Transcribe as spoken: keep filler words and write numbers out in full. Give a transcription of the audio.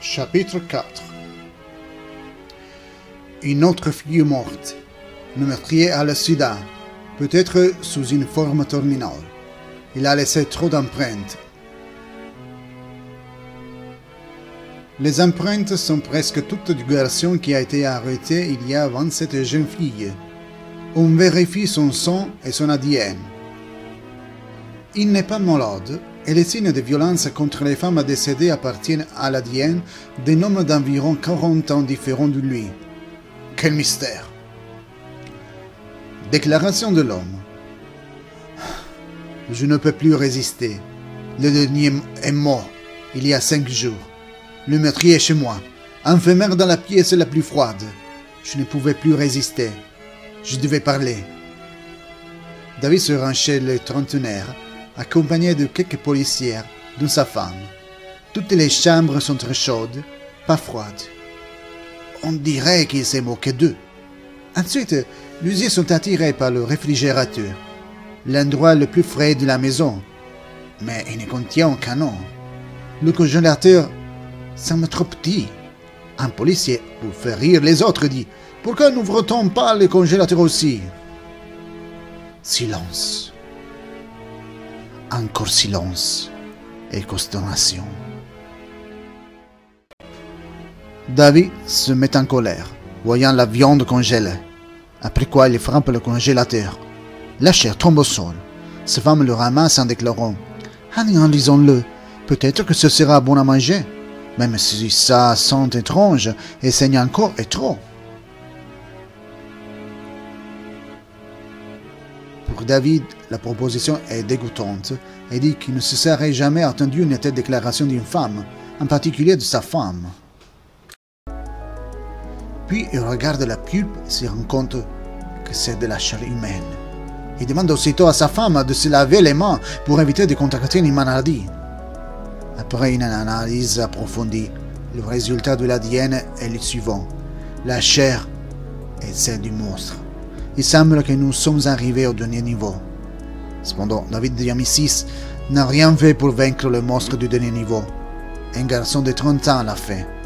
Chapitre quatre. Une autre fille morte. Le meurtrier a le sida, peut-être sous une forme terminale. Il a laissé trop d'empreintes. Les empreintes sont presque toutes du garçon qui a été arrêté il y a vingt-sept jeunes filles. On vérifie son sang et son A D N. Il n'est pas malade et les signes de violence contre les femmes décédées appartiennent à l'A D N d'un homme d'environ quarante ans différent de lui. Quel mystère! Déclaration de l'homme. Je ne peux plus résister. Le dernier est mort il y a cinq jours. Le meurtrier est chez moi, enfermé dans la pièce la plus froide. Je ne pouvais plus résister. Je devais parler. David se rend chez le trentenaire, accompagné de quelques policières, dont sa femme. Toutes les chambres sont très chaudes, pas froides. On dirait qu'il s'est moqué d'eux. Ensuite, les yeux sont attirés par le réfrigérateur, l'endroit le plus frais de la maison. Mais il ne contient qu'un nom. Le congélateur semble trop petit. Un policier, pour faire rire les autres, dit « Pourquoi n'ouvre-t-on pas le congélateur aussi ?» Silence. Encore silence et consternation. David se met en colère, voyant la viande congelée, après quoi il frappe le congélateur. La chair tombe au sol. Sa femme le ramasse en déclarant « Analysons-le, peut-être que ce sera bon à manger, même si ça sent étrange et saigne encore et trop. » Pour David, la proposition est dégoûtante et dit qu'il ne se serait jamais attendu une telle déclaration d'une femme, en particulier de sa femme. Puis il regarde la pulpe et se rend compte que c'est de la chair humaine. Il demande aussitôt à sa femme de se laver les mains pour éviter de contracter une maladie. Après une analyse approfondie, le résultat de l'A D N est le suivant. La chair est celle du monstre. Il semble que nous sommes arrivés au dernier niveau. Cependant, David Diamissis n'a rien fait pour vaincre le monstre du dernier niveau. Un garçon de trente ans l'a fait.